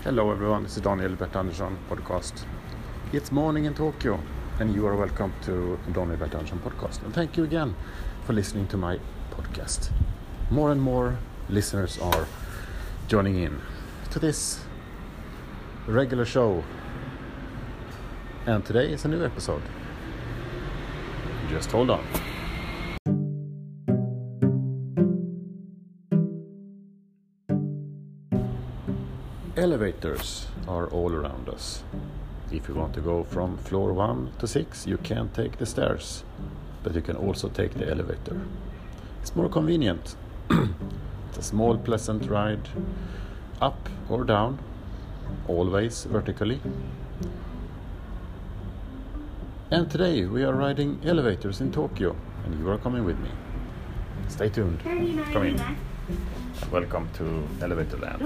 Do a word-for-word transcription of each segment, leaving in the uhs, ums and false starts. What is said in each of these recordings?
Hello everyone, this is Daniel Bert Andersson podcast. It's morning in Tokyo and you are welcome to Daniel Bert Andersson podcast. And thank you again for listening to my podcast. More and more listeners are joining in to this regular show. And today is a new episode. Just hold on. Elevators are all around us. If you want to go from floor one to six, you can't take the stairs, but you can also take the elevator. It's more convenient. It's a small, pleasant ride, up or down, always vertically. And today we are riding elevators in Tokyo, and you are coming with me. Stay tuned. Come in. Welcome to Elevator Land.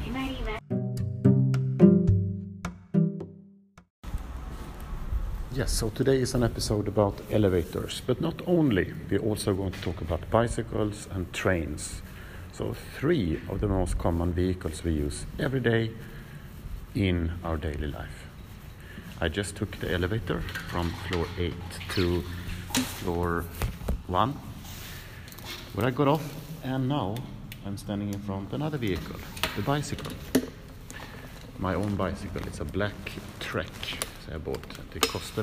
Yes, so today is an episode about elevators, but not only. We're also going to talk about bicycles and trains. So three of the most common vehicles we use every day in our daily life. I just took the elevator from floor eight to floor one, where I got off, and now I'm standing in front of another vehicle, the bicycle. My own bicycle. It's a black Trek I bought. It costed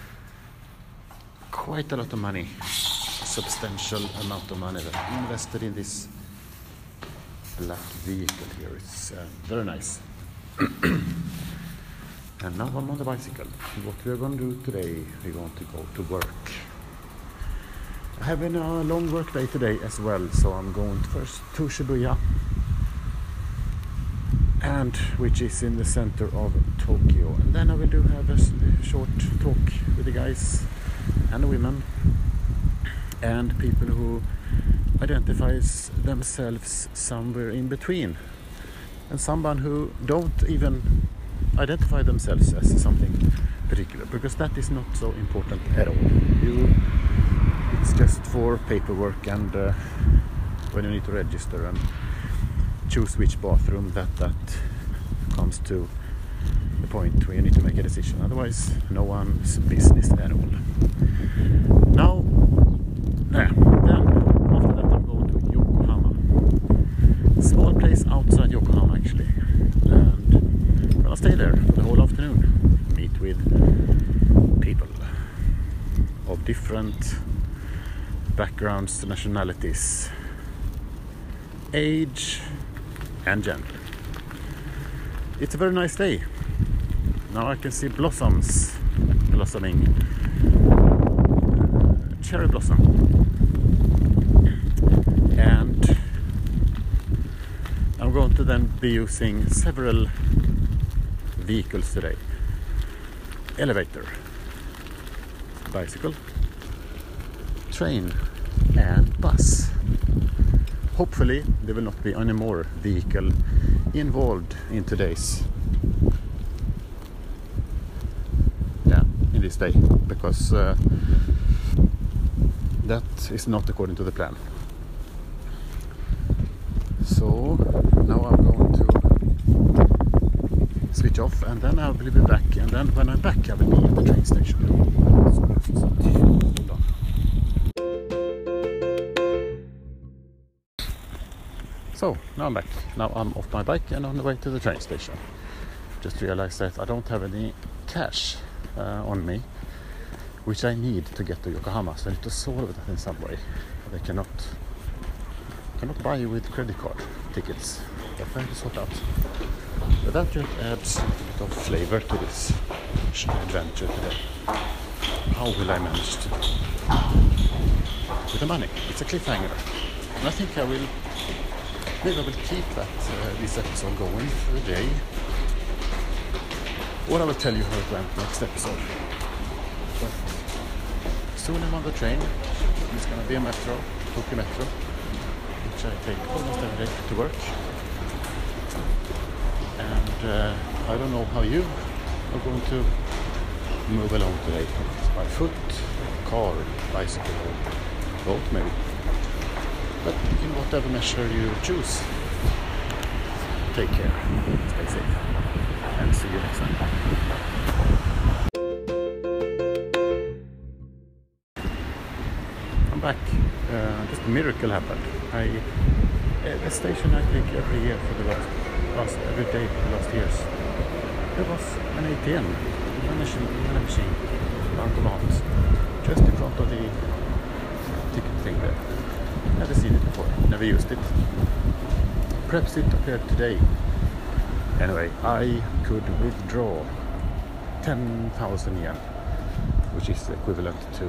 quite a lot of money, a substantial amount of money that I invested in this black vehicle here. It's uh, very nice. And now I'm on the bicycle. What we're going to do today, we're going to go to work. I have been a long work day today as well, so I'm going first to Shibuya, and which is in the center of Tokyo, and then I will do have a short talk with the guys and the women and people who identifies themselves somewhere in between, and someone who don't even identify themselves as something particular, because that is not so important at all. You, it's just for paperwork and uh, when you need to register and choose which bathroom, that that comes to the point where you need to make a decision. Otherwise, no one's business at all. Now, yeah, then after that I'm going to Yokohama. Small place outside Yokohama actually. And I'm gonna stay there for the whole afternoon. Meet with people of different backgrounds, nationalities, age and gender. It's a very nice day. Now I can see blossoms blossoming. Uh, cherry blossom. And I'm going to then be using several vehicles today. Elevator, bicycle, train and bus. Hopefully there will not be any more vehicle involved in today's yeah in this day, because uh, that is not according to the plan. So now I'm going to switch off, and then I will be back, and then when I'm back I will be at the train station. Hold on. So now I'm back. Now I'm off my bike and on the way to the train station. Just realized that I don't have any cash uh, on me, which I need to get to Yokohama. So I need to solve that in some way. They cannot cannot buy you with credit card tickets. They're trying to sort out. But that just adds a bit of flavor to this adventure today. How will I manage to do with the money? It's a cliffhanger, and I think I will. Maybe I will keep that uh, this episode going for a day, or I will tell you how it went next episode. But soon I'm on the train. It's going to be a metro, Tokyo Metro, which I take almost every day to work. And uh, I don't know how you are going to move along today. By foot, car, bicycle, or both maybe. But in whatever measure you choose. take care, stay safe, and see you next time. I'm back. Uh, just a miracle happened. I uh, the station I take every year for the last, last every day for the last years. There was an A T M, a machine, a machine, automat, just in front of the ticket thing there. Never seen it before, never used it. Perhaps it appeared today. Anyway, I could withdraw ten thousand yen, which is equivalent to,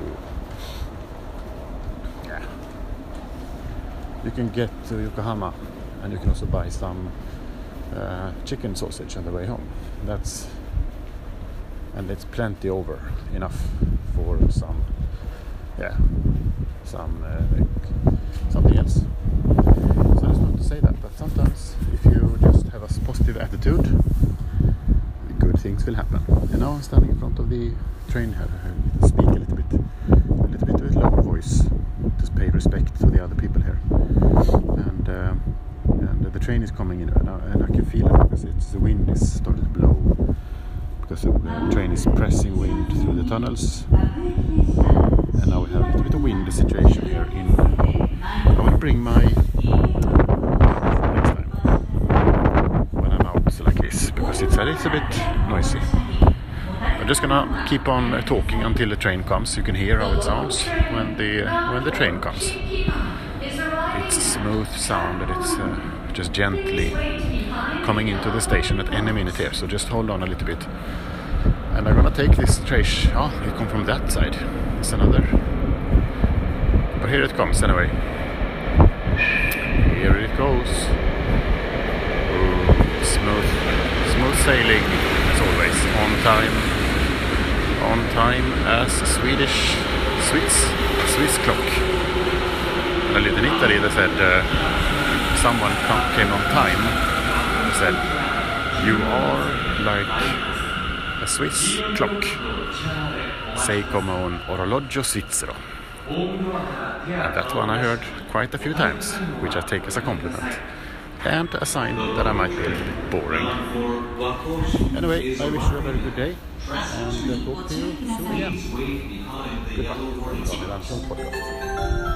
yeah, you can get to Yokohama and you can also buy some uh, chicken sausage on the way home. That's, and it's plenty over, enough for some, yeah, some uh, something else. So I just want to say that, that sometimes if you just have a positive attitude, good things will happen. And now I'm standing in front of the train here, I speak a little bit, a little bit with lower voice, to pay respect to the other people here. And uh, and the train is coming in, and I, and I can feel it because it's, the wind is starting to blow, because the uh, train is pressing wind through the tunnels. And now we have a little bit of wind situation here in. I will bring my next time when I'm out like this, because it's a little bit noisy. I'm just gonna keep on uh, talking until the train comes. You can hear how it sounds when the uh, when the train comes. It's smooth sound, and it's uh, just gently coming into the station at any minute here. So just hold on a little bit. And I'm gonna take this trash. Oh, it comes from that side. It's another. But here it comes anyway. Here it goes. Ooh, smooth, smooth sailing as always. On time, on time as a Swedish, Swiss, Swiss clock. And I lived in Italy. They said uh, someone come, came on time. They said, "You are like a Swiss clock. Sei come un orologio svizzero." And that one I heard quite a few times, which I take as a compliment and a sign that I might be a little bit boring. Anyway, I wish you a very good day, and uh, talk to you soon again. Goodbye.